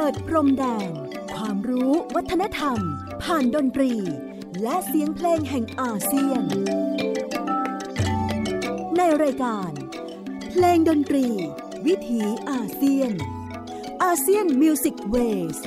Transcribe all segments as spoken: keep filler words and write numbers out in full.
ดพรมแดนความรู้วัฒนธรรมผ่านดนตรีและเสียงเพลงแห่งอาเซียนในรายการเพลงดนตรีวิถีอาเซียนอาเซียนมิวสิกเวส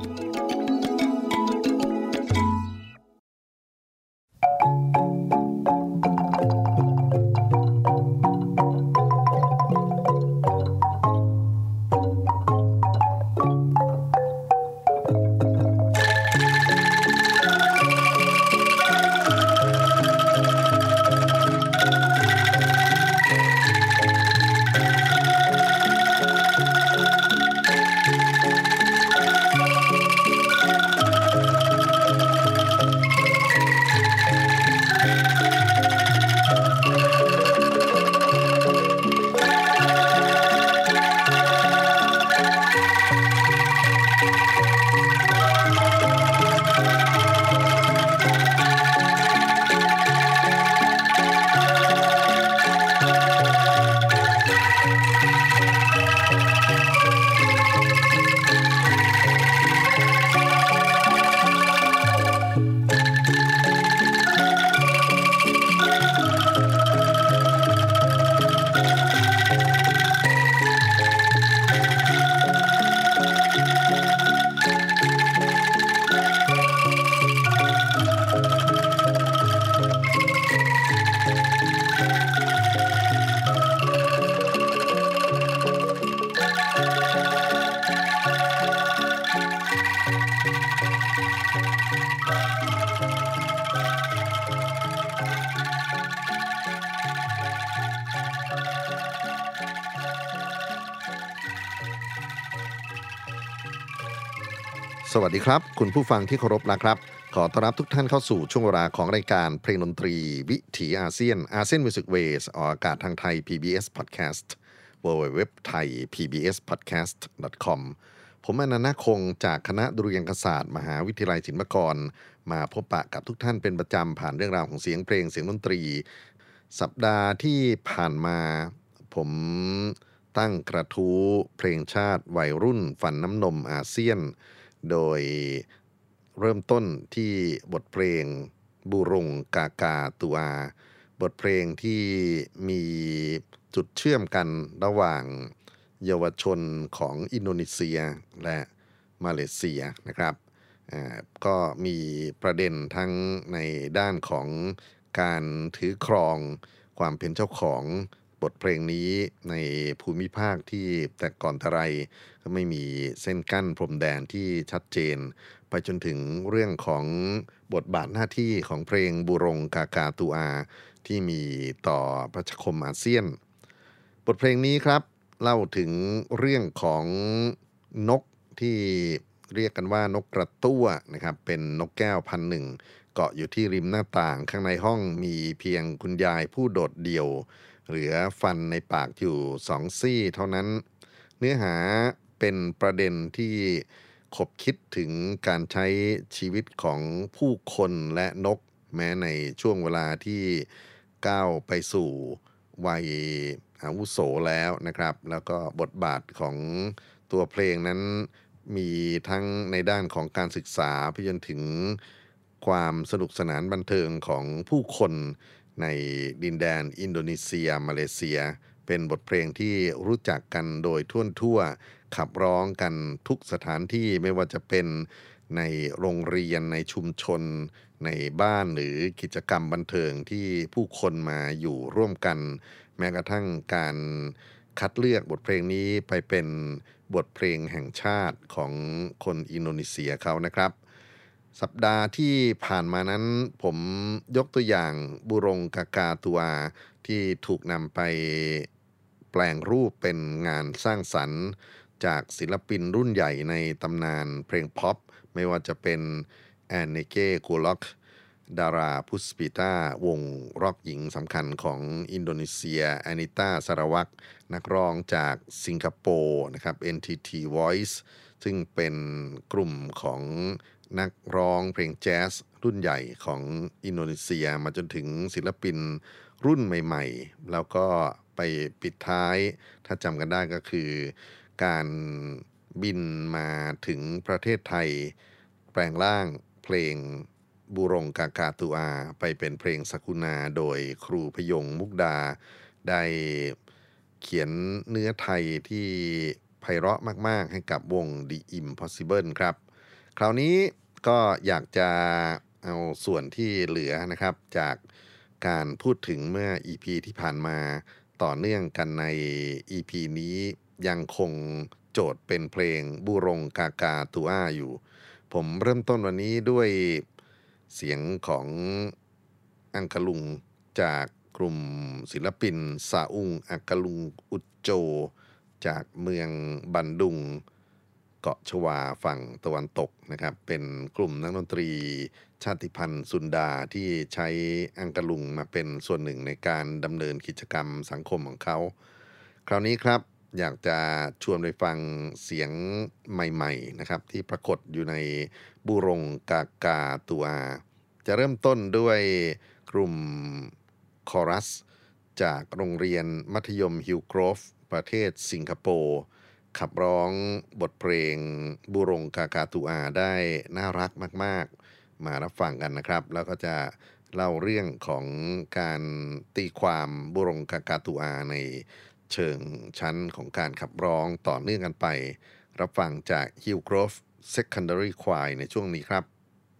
สวัสดีครับคุณผู้ฟังที่เคารพนะครับขอต้อนรับทุกท่านเข้าสู่ช่วงเวลาของรายการเพลงดนตรีวิถีอาเซียนอาเซียนมิวสิกเวสออกอากาศทางไทย พี บี เอส Podcast ดับเบิลยู ดับเบิลยู ดับเบิลยู ดอท ไทย พี บี เอส พอดแคสต์ ดอท คอม ผมอนันต์คงจากคณะดุริยางคศาสตร์มหาวิทยาลัยศิลปากรมาพบปะกับทุกท่านเป็นประจำผ่านเรื่องราวของเสียงเพลงเสียงดนตรีสัปดาห์ที่ผ่านมาผมตั้งกระทู้เพลงชาติวัยรุ่นฝันน้ำนมอาเซียนโดยเริ่มต้นที่บทเพลงบูรงกากาตัวบทเพลงที่มีจุดเชื่อมกันระหว่างเยาวชนของอินโดนีเซียและมาเลเซียนะครับอ่าก็มีประเด็นทั้งในด้านของการถือครองความเป็นเจ้าของบทเพลงนี้ในภูมิภาคที่แต่ก่อนแต่ไรก็ไม่มีเส้นกั้นพรมแดนที่ชัดเจนไปจนถึงเรื่องของบทบาทหน้าที่ของเพลงบูรงกากาตูอาที่มีต่อประชาคมอาเซียนบทเพลงนี้ครับเล่าถึงเรื่องของนกที่เรียกกันว่านกกระตั้วนะครับเป็นนกแก้วพันธุ์หนึ่งเกาะอยู่ที่ริมหน้าต่างข้างในห้องมีเพียงคุณยายผู้โดดเดี่ยวเหลือฟันในปากอยู่สองซี่เท่านั้นเนื้อหาเป็นประเด็นที่ขบคิดถึงการใช้ชีวิตของผู้คนและนกแม้ในช่วงเวลาที่ก้าวไปสู่วัยอาวุโสแล้วนะครับแล้วก็บทบาทของตัวเพลงนั้นมีทั้งในด้านของการศึกษาไปจนถึงความสนุกสนานบันเทิงของผู้คนในดินแดนอินโดนีเซียมาเลเซียเป็นบทเพลงที่รู้จักกันโดยทั่วทั่วขับร้องกันทุกสถานที่ไม่ว่าจะเป็นในโรงเรียนในชุมชนในบ้านหรือกิจกรรมบันเทิงที่ผู้คนมาอยู่ร่วมกันแม้กระทั่งการคัดเลือกบทเพลงนี้ไปเป็นบทเพลงแห่งชาติของคนอินโดนีเซียเขานะครับสัปดาห์ที่ผ่านมานั้นผมยกตัวอย่างบูรงกากาตัวที่ถูกนำไปแปลงรูปเป็นงานสร้างสรรค์จากศิลปินรุ่นใหญ่ในตำนานเพลงพ็อปไม่ว่าจะเป็นแอนเนเก้กูล็อกดาราพุสปิต้าวงร็อกหญิงสำคัญของอินโดนีเซียแอนิต้าสารวักนักร้องจากสิงคโปร์นะครับ เอ็น ที ที Voice ซึ่งเป็นกลุ่มของนักร้องเพลงแจ๊สรุ่นใหญ่ของอินโดนีเซียมาจนถึงศิลปินรุ่นใหม่ๆแล้วก็ไปปิดท้ายถ้าจำกันได้ก็คือการบินมาถึงประเทศไทยแปลงร่างเพลงบูรงกากาตูอาไปเป็นเพลงสกุณาโดยครูพยงมุกดาได้เขียนเนื้อไทยที่ไพเราะมากๆให้กับวง The Impossible ครับคราวนี้ก็อยากจะเอาส่วนที่เหลือนะครับจากการพูดถึงเมื่อ อี พี ที่ผ่านมาต่อเนื่องกันใน อี พี นี้ยังคงโจทย์เป็นเพลงบูรงกากาตูอาอยู่ผมเริ่มต้นวันนี้ด้วยเสียงของอังกะลุงจากกลุ่มศิลปินซาอุงอังกะลุงอุจโจจากเมืองบันดุงเกาะชวาฝั่งตะวันตกนะครับเป็นกลุ่มนักดนตรีชาติพันธุ์ซุนดาที่ใช้อังกะลุงมาเป็นส่วนหนึ่งในการดำเนินกิจกรรมสังคมของเขาคราวนี้ครับอยากจะชวนไปฟังเสียงใหม่ๆนะครับที่ปรากฏอยู่ในบูรงกากาตูอาจะเริ่มต้นด้วยกลุ่มคอรัสจากโรงเรียนมัธยมฮิลโกรฟประเทศสิงคโปร์ขับร้องบทเพลงบูรงกากาตูอาได้น่ารักมากๆมารับฟังกันนะครับแล้วก็จะเล่าเรื่องของการตีความบูรงกากาตูอาในเชิงชั้นของการขับร้องต่อเนื่องกันไปรับฟังจาก Hillgrove Secondary Choir ในช่วงนี้ครับ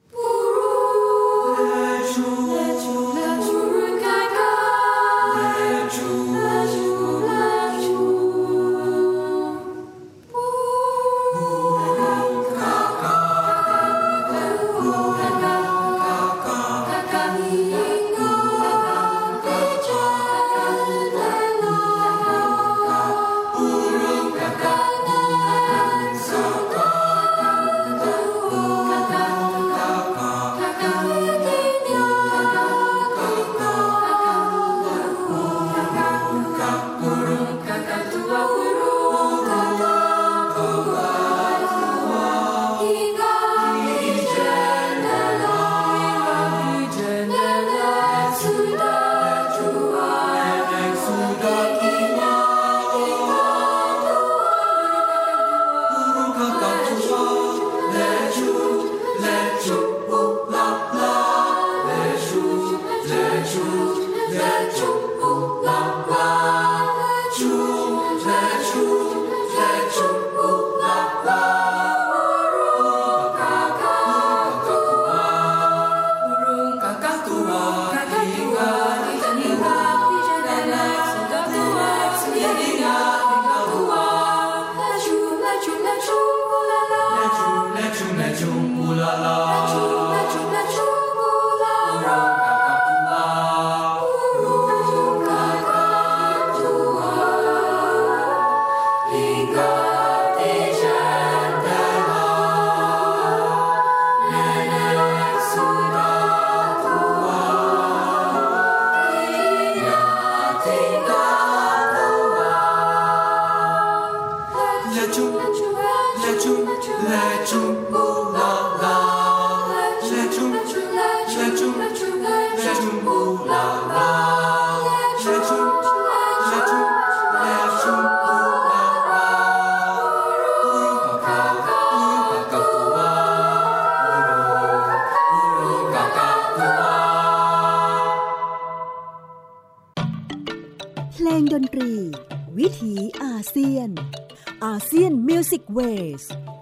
เพลงดนตรีวิถีอาเซียนอาเซียนมิวสิกเวส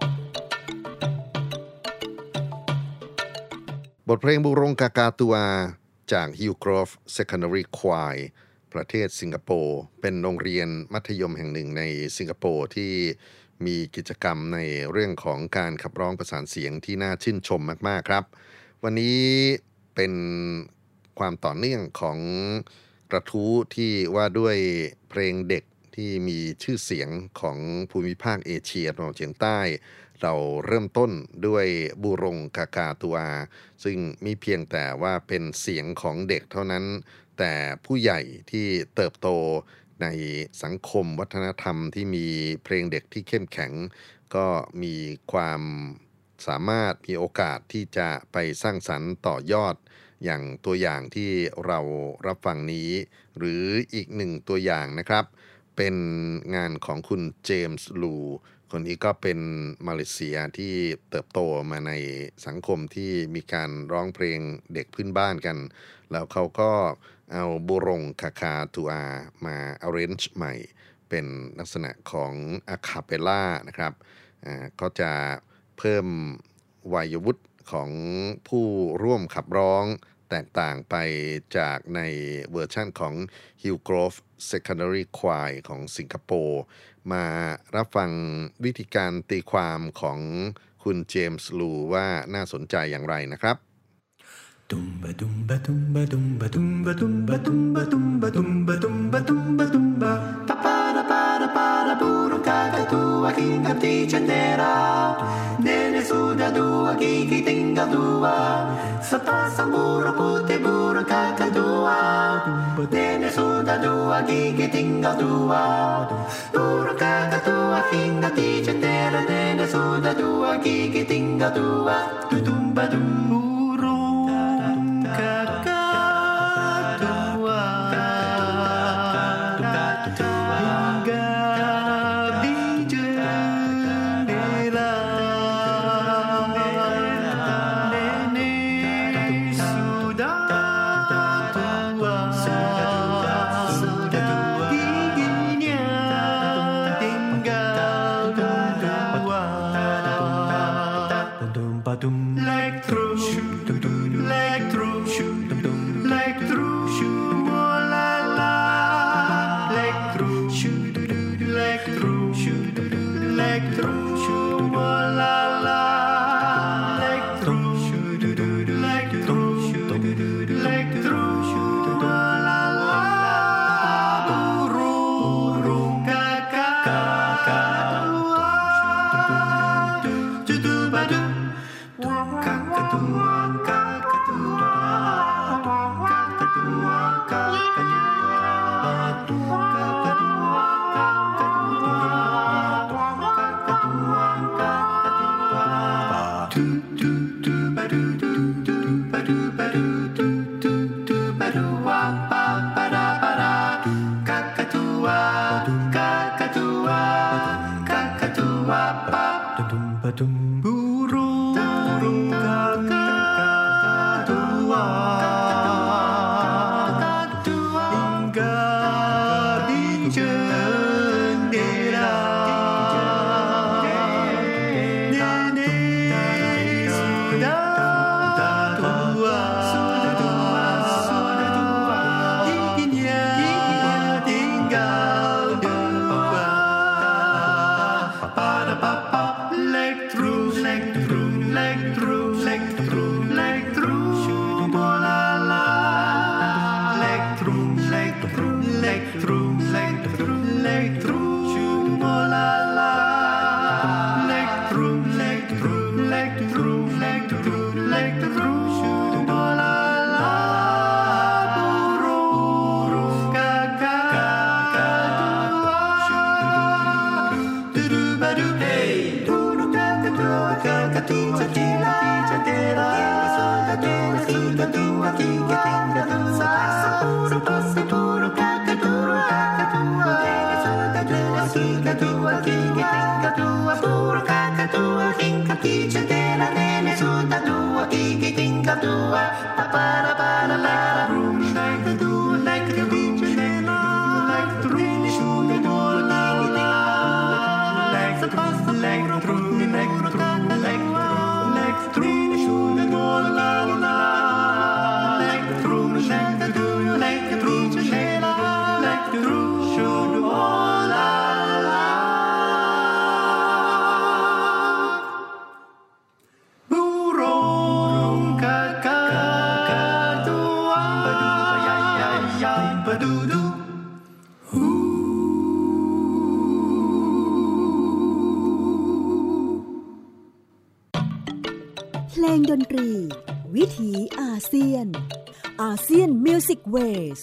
บทเพลงบูรงกากาตูอาจาก Hillgrove Secondary Choir ประเทศสิงคโปร์เป็นโรงเรียนมัธยมแห่งหนึ่งในสิงคโปร์ที่มีกิจกรรมในเรื่องของการขับร้องประสานเสียงที่น่าชื่นชมมากๆครับวันนี้เป็นความต่อเนื่องของกระทู้ที่ว่าด้วยเพลงเด็กที่มีชื่อเสียงของภูมิภาคเอเชียตะวันออกเฉียงใต้เราเริ่มต้นด้วยบูรงกากาตูอาซึ่งมีเพียงแต่ว่าเป็นเสียงของเด็กเท่านั้นแต่ผู้ใหญ่ที่เติบโตในสังคมวัฒนธรรมที่มีเพลงเด็กที่เข้มแข็งก็มีความสามารถมีโอกาสที่จะไปสร้างสรรค์ต่อยอดอย่างตัวอย่างที่เรารับฟังนี้หรืออีกหนึ่งตัวอย่างนะครับเป็นงานของคุณเจมส์ลูคนนี้ก็เป็นมาเลเซียที่เติบโตมาในสังคมที่มีการร้องเพลงเด็กพื้นบ้านกันแล้วเขาก็เอาบูรงคาคาตูอามา arrange ใหม่เป็นลักษณะของอะคาเปลล่านะครับอ่าก็จะเพิ่มวัยวุฒิของผู้ร่วมขับร้องแตกต่างไปจากในเวอร์ชั่นของ Hillgrove Secondary Choir ของสิงคโปร์มารับฟังวิธีการตีความของคุณเจมส์ลูว่าน่าสนใจอย่างไรนะครับ Tumba tumba tumba tumba tumba tumba tumba tumba tumba tumba tumba tumba para para para burung kakatua hingga di jendela nenek sudah dua gigi tinggal dua sepasang burung putih burung kakatua nenek sudah dua gigi tinggal dua burung kakatua hingga di jendela nenek sudah dua gigi tinggal dua tumba tumba Leg through, leg through, leg through, la la. Leg through, leg through, leg through, la la. Leg through, leg through, leg through, la la. Burung kakak, judu-badu. Kakatua, kakatua, kakatua, kakatua, kakatua, kakatua, kakatua, tu tu tu badu tu tu badu badu tu tu tu badu wa pa para para kakatua, kakatua, kakatua pa tum badum burung burung kakatua hingga di jendela nenek sudah tua giginya tinggal dua pada papa leg through leg through leg through leg through leg through bola la leg through leg through leg through leg through leg through bola la leg through leg through leg through leg through leg through bola la burung kakatua dudu badu hey burung kakatua kakatua jendela jendela sudah sudah dua tiga tiga dua sepasang burung kakatua kakatua sudah dua tiga dua tiga tiga dua burung kakatua hingga di jendela nenek sudah dua gigi tinggal dua para para para burung kakatua naik ke jendela naik terus sudah bola naik sepasang naik terus naik terus naik naik terus sudah bola naik terus naik terus naik terus jendela naik terus sudah bola burung kakatua badudu เพลงดนตรีวิถีอาเซียนอาเซียนมิวสิกเวส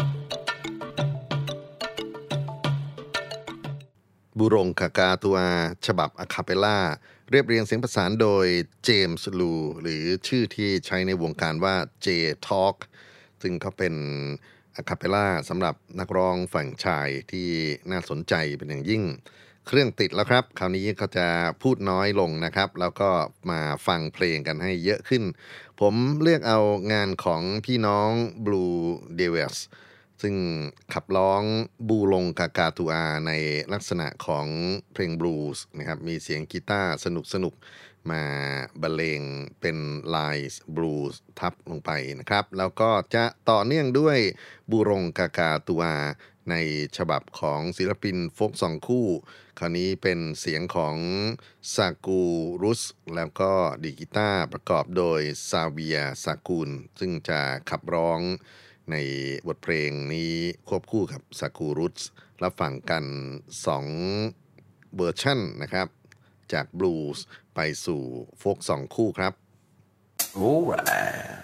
บูรงคากาตัวฉบับอะคาเปลล่าเรียบเรียงเสียงประสานโดยเจมส์ลูหรือชื่อที่ใช้ในวงการว่า J Talk ซึ่งเขาเป็นอะคาเปลล่าสำหรับนักร้องฝั่งชายที่น่าสนใจเป็นอย่างยิ่งเครื่องติดแล้วครับคราวนี้ก็จะพูดน้อยลงนะครับแล้วก็มาฟังเพลงกันให้เยอะขึ้นผมเลือกเอางานของพี่น้อง Blue Devils ซึ่งขับร้องบูลงกากาตูอาในลักษณะของเพลงบลูส์นะครับมีเสียงกีตาร์สนุกๆมาบรรเลงเป็นไลน์บลูส์ทับลงไปนะครับแล้วก็จะต่อเนื่องด้วยบูลงกากาตูอาในฉบับของศิลปินโฟกสองคู่คราวนี้เป็นเสียงของซากูรุสแล้วก็ดีกีตาร์ประกอบโดยซาเวียซากูลซึ่งจะขับร้องในบทเพลงนี้ควบคู่กับซากูรุสรับฟังกันสองเวอร์ชันนะครับจากบลูส์ไปสู่โฟกสองคู่ครับ Alright.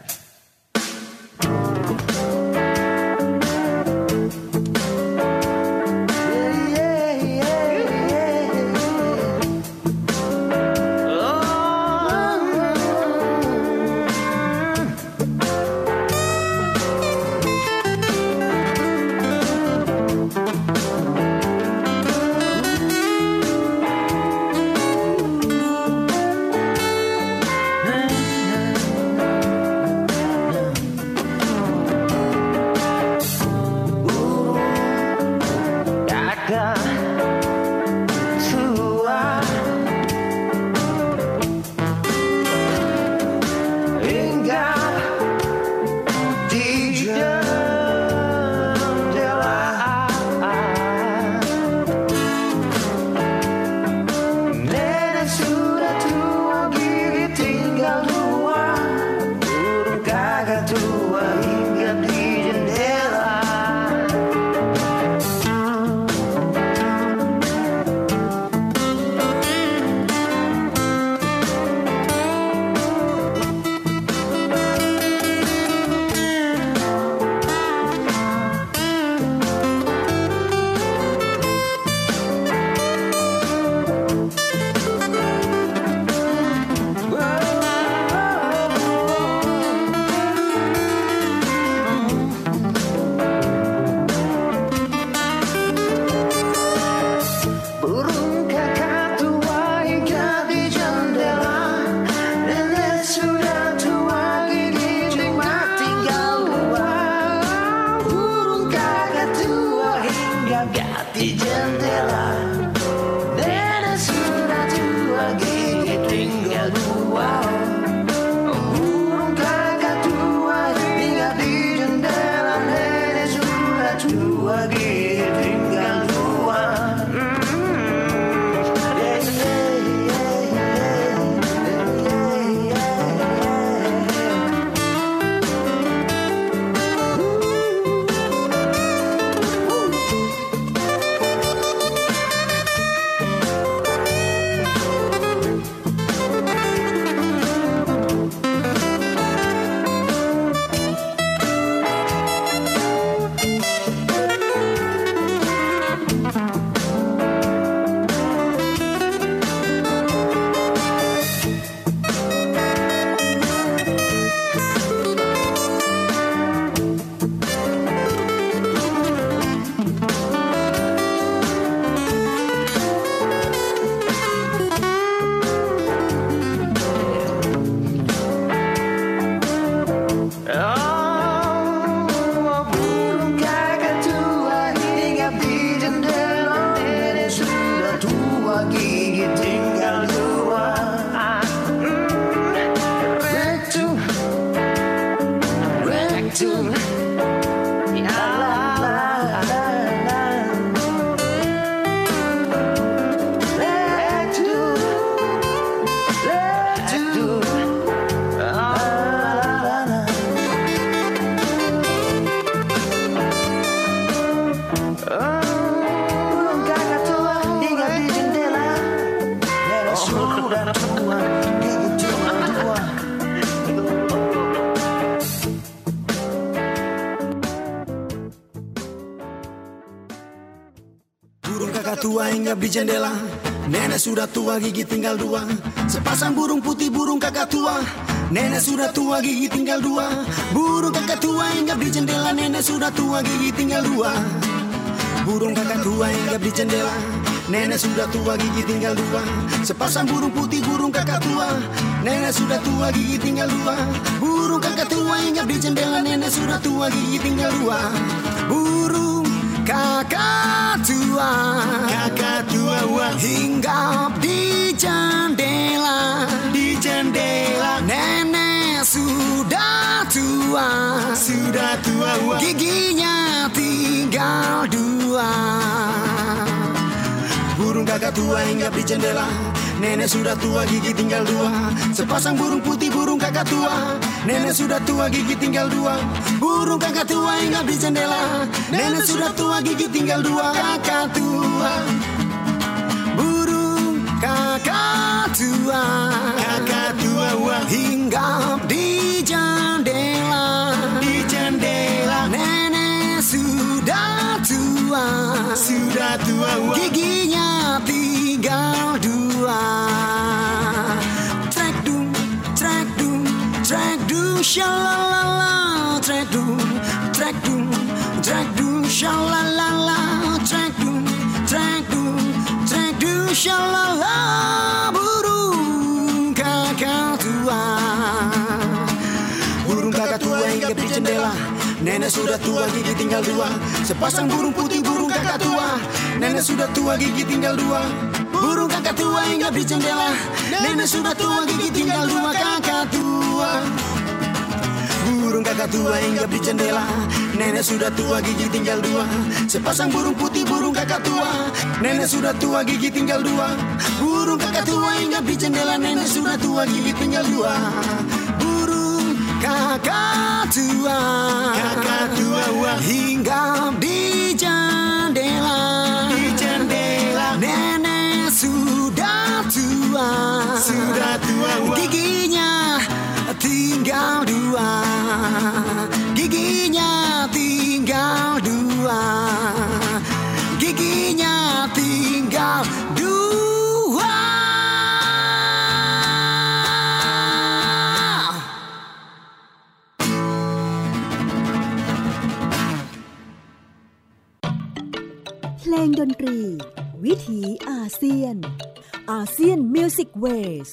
Burung kakak tua hinggap di jendela, Nenek sudah tua gigi tinggal dua. Sepasang burung putih burung kakak tua. Nenek sudah tua gigi tinggal dua. Burung kakak tua hinggap di jendela. Nenek sudah tua gigi tinggal dua. Burung kakak tua hinggap di jendela. Nenek sudah tua gigi tinggal dua. Sepasang burung putih burung kakak tua. Nenek sudah tua gigi tinggal dua. Burung kakak tua hinggap di jendela. Nenek sudah tua gigi tinggal dua. Burung kakak tua, kakak tua hinggap di jendela, di jendela. Nenek sudah tua, sudah tua, giginya tinggal dua. Burung kakak tua hinggap di jendela. Nenek sudah tua gigi tinggal dua. Sepasang burung putih burung kakak tua. Nenek sudah tua gigi tinggal dua. Burung kakak tua hinggap di jendela. Nenek sudah tua gigi tinggal dua. Kakak tua, burung kakak tua, kakak tua hinggap di jendela, di jendela. Nenek sudah tua, sudah tua, giginya tinggal dua. Trek dung, trek dung, trek dung, shalalala. Trek dung, trek dung, trek dung, shalalala. Trek dung, trek dung, trek dung, shalala. Burung kakak tua, burung kakak tua hinggap di jendela. Nenek sudah tua gigi tinggal dua. Sepasang burung putih burung kakak tua. Nenek sudah tua gigi tinggal dua. Burung kakak tua hinggap di jendela. Nenek sudah tua gigi tinggal dua. Kakak tua, burung kakak tua hinggap di jendela. Nenek sudah tua gigi tinggal dua. Sepasang burung putih burung kakak tua. Nenek sudah tua gigi tinggal dua. Burung kakak tua hinggap di jendela. Nenek sudah tua gigi tinggal dua. Burung kakak tua, kakak tua hinggap di jendela, di jendela. Nenek sudah tua, sudah tua, giginya tinggal dua, giginya tinggal dua, giginya tinggal dua. เพลงดนตรีวิถีอาเซียนอาเซียนมิวสิกเวส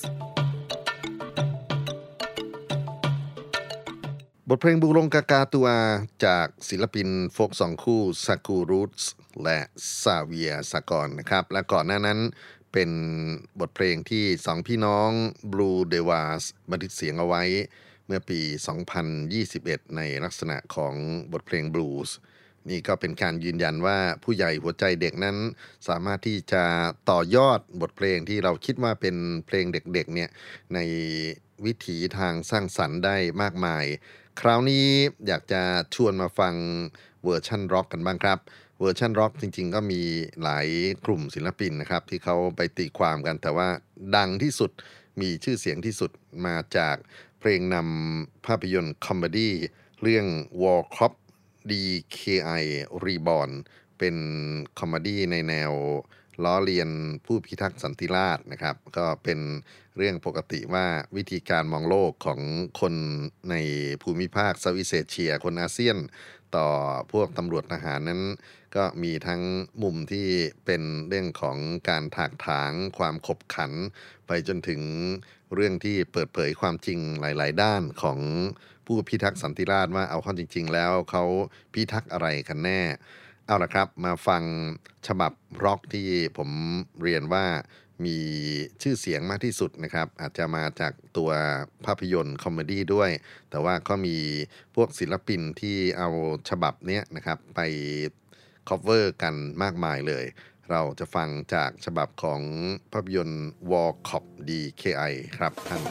บทเพลงบูรงกากาตัวจากศิลปินโฟกสองคู่ซากูรูทส์และซาเวียสากรนะครับและก่อนหน้านั้นเป็นบทเพลงที่สองพี่น้องบลูเดวาสบันทึกเสียงเอาไว้เมื่อปีสองพันยี่สิบเอ็ดในลักษณะของบทเพลงบลูส์นี่ก็เป็นการยืนยันว่าผู้ใหญ่หัวใจเด็กนั้นสามารถที่จะต่อยอดบทเพลงที่เราคิดว่าเป็นเพลงเด็กๆเนี่ยในวิถีทางสร้างสรรค์ได้มากมายคราวนี้อยากจะชวนมาฟังเวอร์ชันร็อกกันบ้างครับเวอร์ชันร็อกจริงๆก็มีหลายกลุ่มศิลปินนะครับที่เขาไปตีความกันแต่ว่าดังที่สุดมีชื่อเสียงที่สุดมาจากเพลงนำภาพยนตร์คอมเมดี้เรื่อง War Cop ดี เค ไอ Reborn เป็นคอมเมดี้ในแนวล้อเลียนผู้พิทักษ์สันติราษฎร์นะครับก็เป็นเรื่องปกติว่าวิธีการมองโลกของคนในภูมิภาคเซาท์อีสต์เอเชียคนอาเซียนต่อพวกตำรวจทหารนั้นก็มีทั้งมุมที่เป็นเรื่องของการถากถางความขบขันไปจนถึงเรื่องที่เปิดเผยความจริงหลายๆด้านของผู้พิทักษ์สันติราษฎร์ว่าเอาเข้าจริงๆแล้วเขาพิทักษ์อะไรกันแน่เอาละครับมาฟังฉบับร็อกที่ผมเรียนว่ามีชื่อเสียงมากที่สุดนะครับอาจจะมาจากตัวภาพยนตร์คอมเมดี้ด้วยแต่ว่าก็มีพวกศิลปินที่เอาฉบับเนี้ยนะครับไปคอฟเวอร์กันมากมายเลยเราจะฟังจากฉบับของภาพยนตร์ War Cop ดี เค ไอ ครับท่าน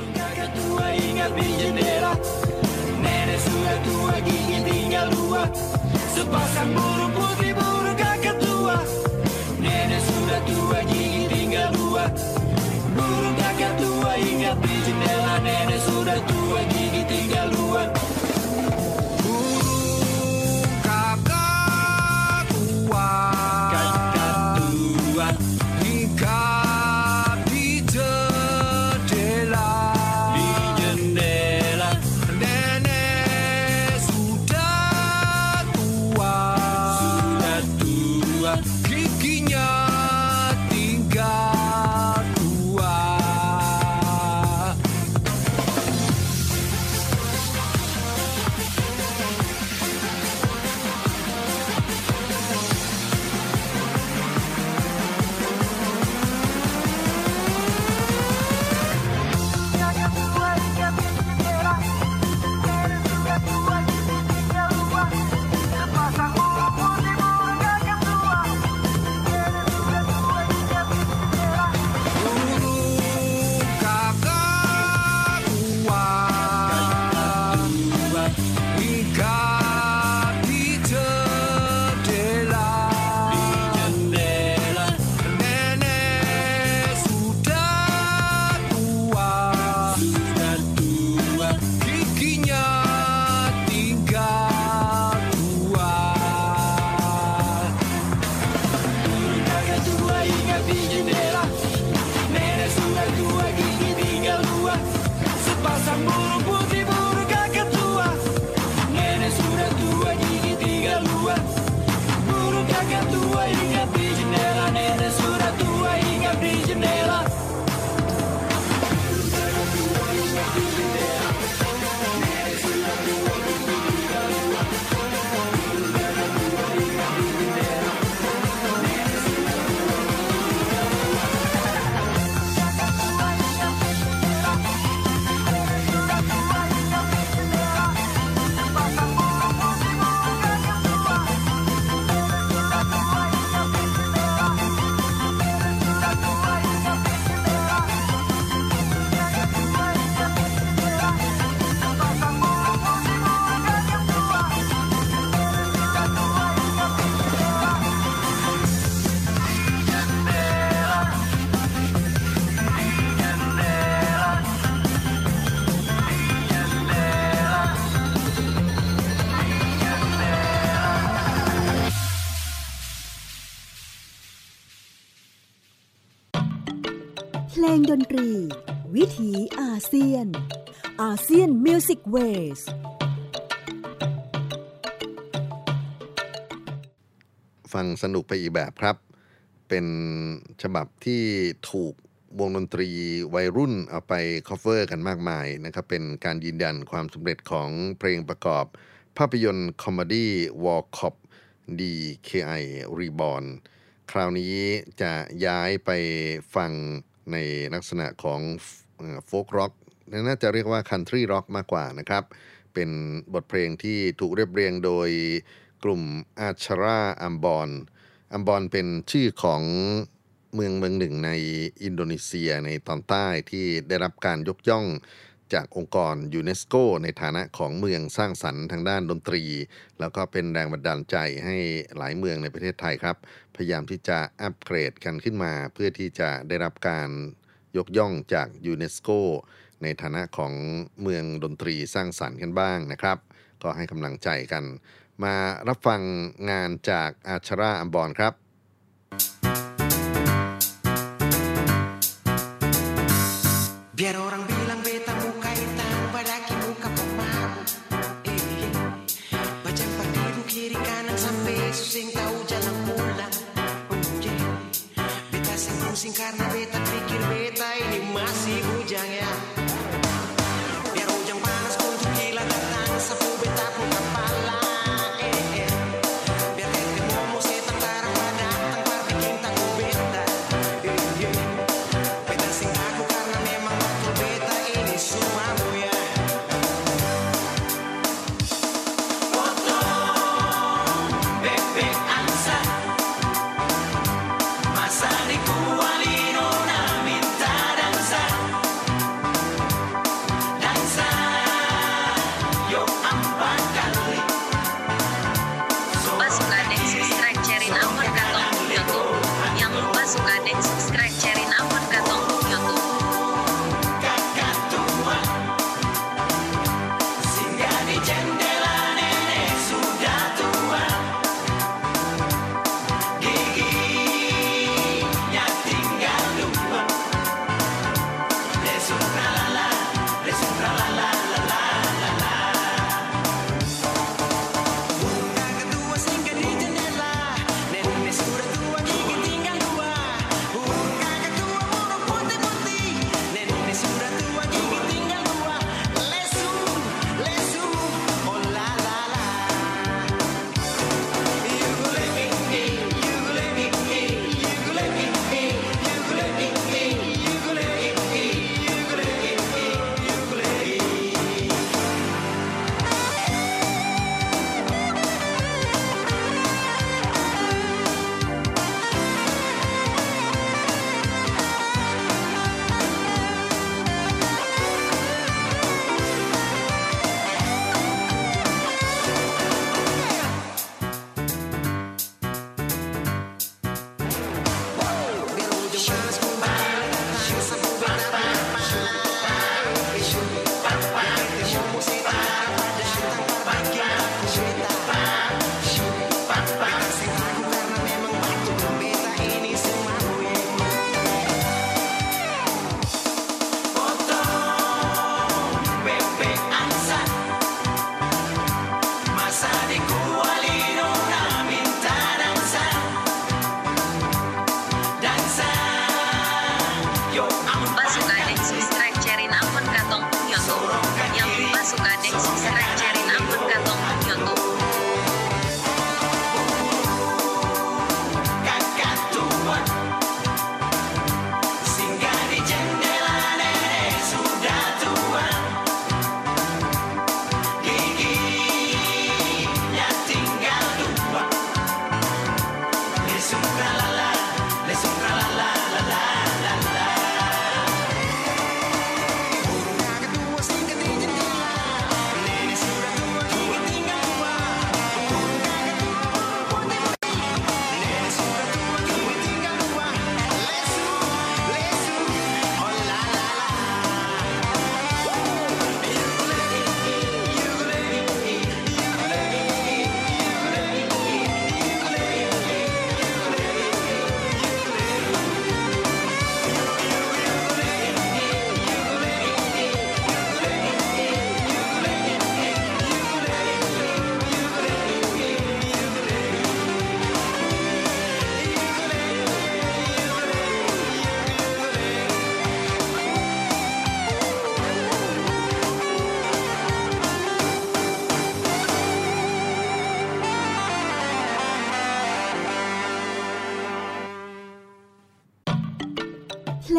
Sepasang burung putih burung kakak tua. Nenek sudah tua gigi tinggal dua. Burung kakak tua hinggap di jendela. Nenek sudah tua gigi tinggal dua. Burung kakak tua, kakak tua hinggap เพลงดนตรีวิถีอาเซียนอาเซียนมิวสิกเวสฟังสนุกไปอีกแบบครับเป็นฉบับที่ถูกวงดนตรีวัยรุ่นเอาไปคอฟเวอร์กันมากมายนะครับเป็นการยืนยันความสำเร็จของเพลงประกอบภาพยนตร์คอมเมดี้วอลคอป ดี เค ไอ Reborn คราวนี้จะย้ายไปฟังในลักษณะของโฟล์กร็อกน่าจะเรียกว่าคันทรีร็อกมากกว่านะครับเป็นบทเพลงที่ถูกเรียบเรียงโดยกลุ่มอาชาราอัมบอนอัมบอนเป็นชื่อของเมืองเมืองหนึ่งในอินโดนีเซียในตอนใต้ที่ได้รับการยกย่องจากองค์กรยูเนสโกในฐานะของเมืองสร้างสรรค์ทางด้านดนตรีแล้วก็เป็นแรงบันดาลใจให้หลายเมืองในประเทศไทยครับพยายามที่จะอัปเกรดกันขึ้นมาเพื่อที่จะได้รับการยกย่องจากยูเนสโกในฐานะของเมืองดนตรีสร้างสรรค์กันบ้างนะครับก็ให้กำลังใจกันมารับฟังงานจากอาชาราอัมบอนครับ Biar orang bilang beta muka hitam padahal muka pemalu eh, Macam padiru kiri kanan sampai susing tahu jalan pulang oh, yeah. Beta sing pusing karena beta pikir beta ini masih bujang ya Biar hujan panas untuk gila datang sapu beta pun kepala eh, eh. Biar tete momo setan tarang datang par bikin takut beta eh, yeah. Beta sing aku karena memang beta ini sumamu ya Foto Bebek angsa Masa di kualino na minta dansa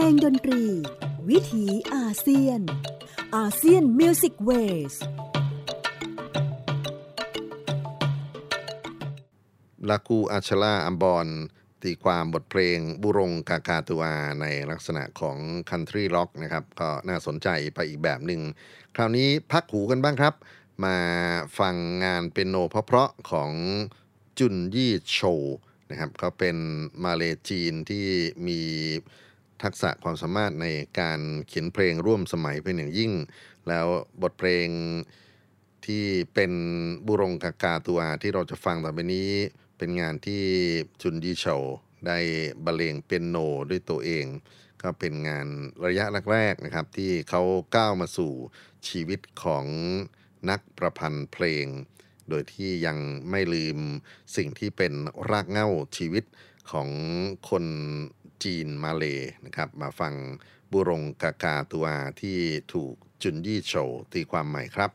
งดนตรีวิถีอาเซียนอาเซียนมิวสิกเวสลากูอาชลาอัมบอนตีความบทเพลงบุรงกากาตัวในลักษณะของคันทรีร็อกนะครับก็น่าสนใจไปอีกแบบหนึ่งคราวนี้พักหูกันบ้างครับมาฟังงานเปียโนเพราะๆของจุนยี่โชนะครับเขาเป็นมาเลจีนที่มีทักษะความสามารถในการเขียนเพลงร่วมสมัยเป็นอย่างยิ่งแล้วบทเพลงที่เป็นบุรงกากาตัวที่เราจะฟังต่อไปนี้เป็นงานที่จุนยี่โชได้บรรเลงเปียโนด้วยตัวเองก็เป็นงานระยะแรกๆนะครับที่เขาก้าวมาสู่ชีวิตของนักประพันธ์เพลงโดยที่ยังไม่ลืมสิ่งที่เป็นรากเหง้าชีวิตของคนจีนมาเลนะครับมาฟังบุรงกากาตัวที่ถูกจุนยี่โฉตีความใหม่ครับ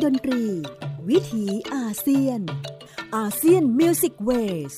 ดนตรีวิถีอาเซียนอาเซียนมิวสิกเวส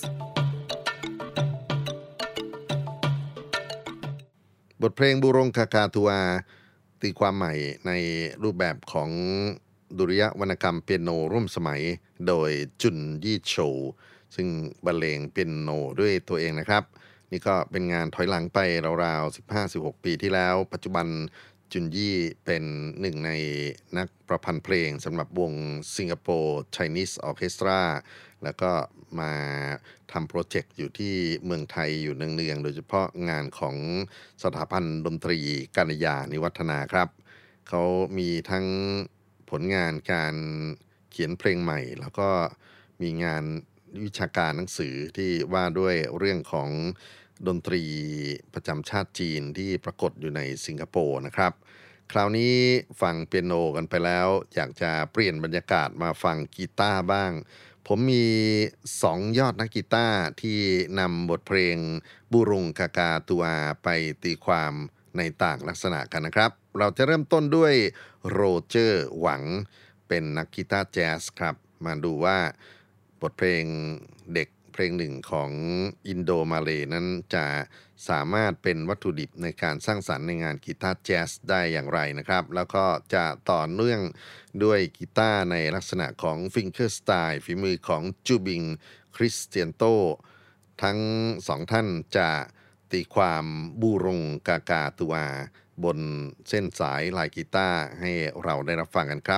บทเพลงบูรงกากาทัวตีความใหม่ในรูปแบบของดุริยวรรณกรรมเปียโนร่วมสมัยโดยจุนยี่โฉวซึ่งบรรเลงเปียโนด้วยตัวเองนะครับนี่ก็เป็นงานถอยหลังไปราวๆ สิบห้าถึงสิบหก ปีที่แล้วปัจจุบันจุนยี่เป็นหนึ่งในนักประพันธ์เพลงสำหรับวงสิงคโปร์ Chinese Orchestra แล้วก็มาทำโปรเจกต์อยู่ที่เมืองไทยอยู่เนืองๆโดยเฉพาะงานของสถาบันดนตรีกาญยานิวัฒนาครับเขามีทั้งผลงานการเขียนเพลงใหม่แล้วก็มีงานวิชาการหนังสือที่ว่าด้วยเรื่องของดนตรีประจำชาติจีนที่ปรากฏอยู่ในสิงคโปร์นะครับคราวนี้ฟังเปียโนกันไปแล้วอยากจะเปลี่ยนบรรยากาศมาฟังกีตาร์บ้างผมมีสองยอดนักกีตาร์ที่นำบทเพลงบูรุงกากาตัวไปตีความในต่างลักษณะกันนะครับเราจะเริ่มต้นด้วยโรเจอร์หวังเป็นนักกีตาร์แจ๊สครับมาดูว่าบทเพลงเด็กเพลงหนึ่งของอินโดมาเลย์นั้นจะสามารถเป็นวัตถุดิบในการสร้างสรรค์ในงานกีตาร์แจ๊สได้อย่างไรนะครับแล้วก็จะต่อเนื่องด้วยกีตาร์ในลักษณะของฟิงเกอร์สไตล์ฝีมือของจูบิงคริสเตียนโตทั้งสองท่านจะตีความบูรงกากาตัวบนเส้นสายลายกีตาร์ให้เราได้รับฟังกันครับ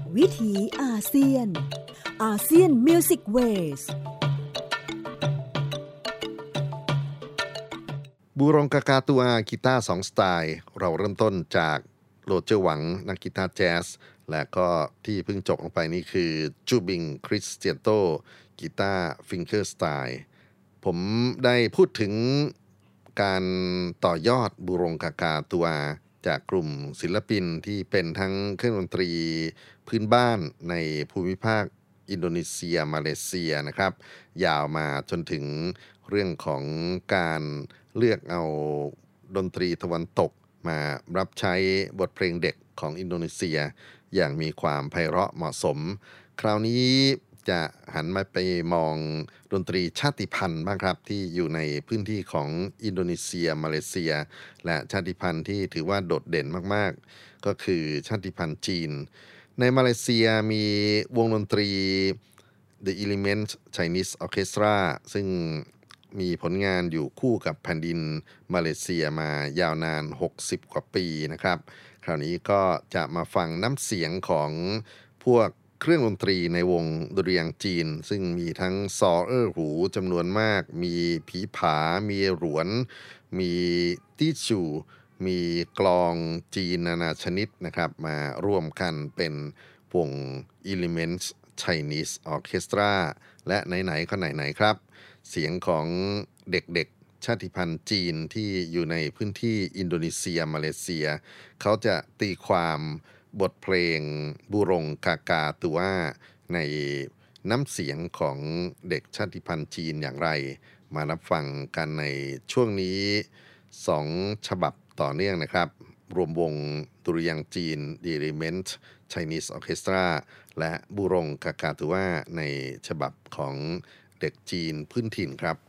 วิถีอาเซียนอาเซียนมิวสิกเวสบูรงกากาตัวกีตาร์สองสไตล์เราเริ่มต้นจากโรเจอร์หวังนักกีตาร์แจ๊สและก็ที่เพิ่งจบลงไปนี่คือจูบิงคริสเตียโตกีตาร์ฟิงเกอร์สไตล์ผมได้พูดถึงการต่อยอดบูรงกากาตัวจากกลุ่มศิลปินที่เป็นทั้งเครื่องดนตรีพื้นบ้านในภูมิภาคอินโดนีเซียมาเลเซียนะครับยาวมาจนถึงเรื่องของการเลือกเอาดนตรีตะวันตกมารับใช้บทเพลงเด็กของอินโดนีเซียอย่างมีความไพเราะเหมาะสมคราวนี้จะหันมาไปมองดนตรีชาติพันธุ์บ้างครับที่อยู่ในพื้นที่ของอินโดนีเซียมาเลเซียและชาติพันธุ์ที่ถือว่าโดดเด่นมากๆก็คือชาติพันธุ์จีนในมาเลเซียมีวงดนตรี The Element Chinese Orchestra ซึ่งมีผลงานอยู่คู่กับแผ่นดินมาเลเซียมายาวนานหกสิบกว่าปีนะครับคราวนี้ก็จะมาฟังน้ำเสียงของพวกเครื่องดนตรีในวงดุริยางค์จีนซึ่งมีทั้งซอเอ้อหูจำนวนมากมีผีผามีหรวนมีตี้จูมีกลองจีนนานาชนิดนะครับมาร่วมกันเป็นวง Elements Chinese Orchestra และไหนๆก็ไหนๆครับเสียงของเด็กๆชาติพันธุ์จีนที่อยู่ในพื้นที่อินโดนีเซียมาเลเซียเขาจะตีความบทเพลงบูรงกากาตัวในน้ำเสียงของเด็กชาติพันธุ์จีนอย่างไรมารับฟังกันในช่วงนี้สองฉบับต่อเนื่องนะครับรวมวงดุริยางค์จีน The Element Chinese Orchestra และบูรงกากาตัวในฉบับของเด็กจีนพื้นถิ่นครับ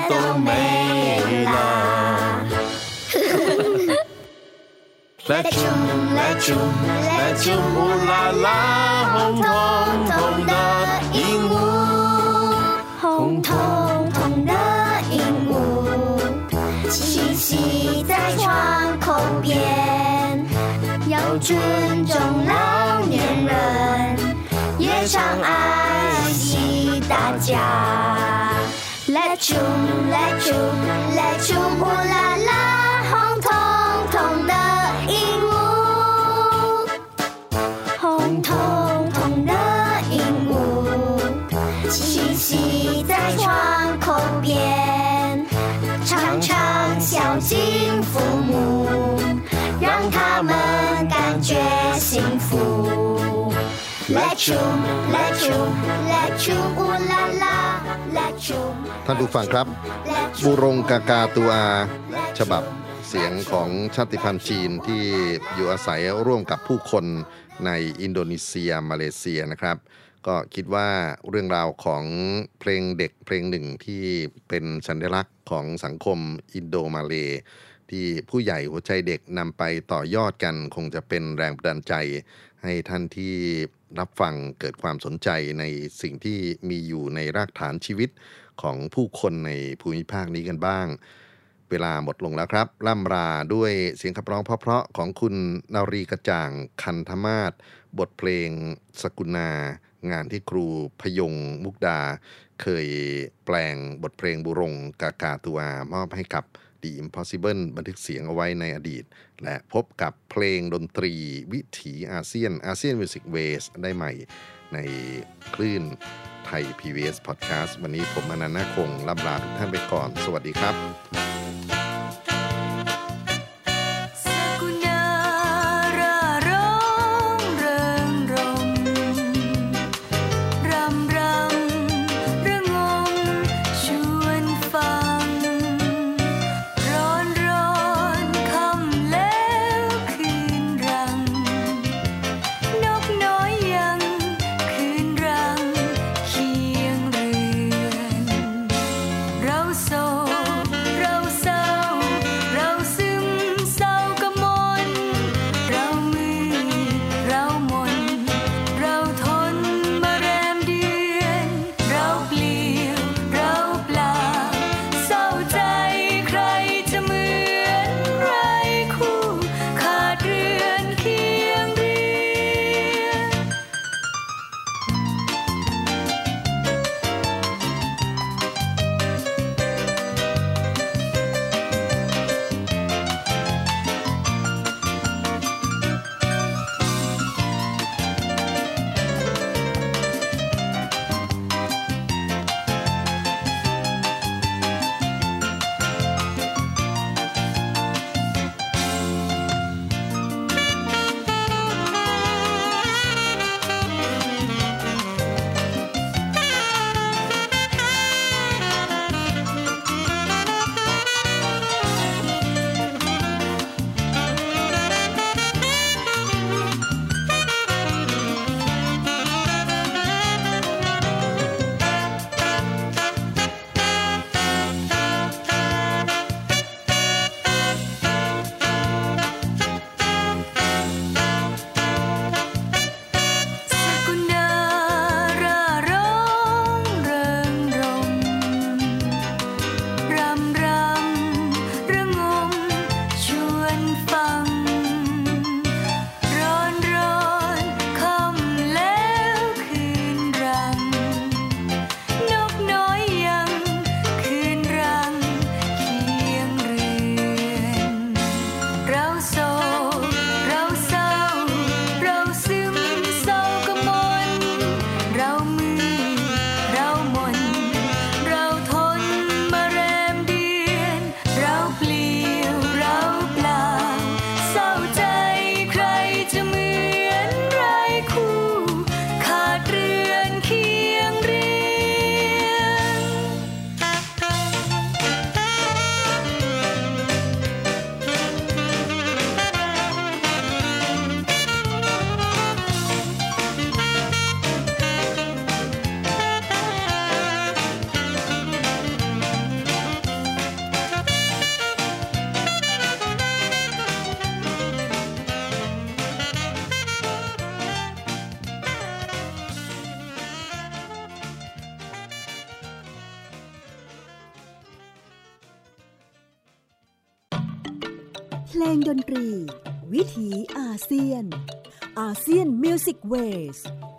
都没了。来啾来啾来啾，乌拉拉，红彤彤的鹦鹉，红彤彤的鹦鹉，栖息在窗口边，要尊重老年人，也常爱惜大家。来啾来啾来啾，乌拉拉，红彤彤的鹦鹉，红彤彤的鹦鹉，栖息在窗口边，常常孝敬父母，让他们感觉幸福。来啾来啾来啾，乌拉拉，来啾。 ท่านผู้ฟังครับบูรงกากาตูอาฉบับเสียงของชาติพันธุ์จีนที่อยู่อาศัยร่วมกับผู้คนในอินโดนีเซียมาเลเซียนะครับก็คิดว่าเรื่องราวของเพลงเด็กเพลงหนึ่งที่เป็นสัญลักษณ์ของสังคมอินโดมาเลที่ผู้ใหญ่หัวใจเด็กนำไปต่อยอดกันคงจะเป็นแรงบันดาลใจให้ท่านที่รับฟังเกิดความสนใจในสิ่งที่มีอยู่ในรากฐานชีวิตของผู้คนในภูมิภาคนี้กันบ้างเวลาหมดลงแล้วครับล่ำลาด้วยเสียงขับร้องเพราะๆของคุณนารีกระจ่างคันธมาศบทเพลงสกุณางานที่ครูพยงมุกดาเคยแปลงบทเพลงบุรงกากาตูอามอบให้กับ The Impossible บันทึกเสียงเอาไว้ในอดีตและพบกับเพลงดนตรีวิถีอาเซียนอาเซียนมิวสิกเวสได้ใหม่ในคลื่นไทย พี บี เอส Podcast วันนี้ผมอนันต์ นาคงล่ำลาทุกท่านไปก่อนสวัสดีครับเราโศกเราเพลงดนตรีวิถีอาเซียนอาเซียนมิวสิกเวส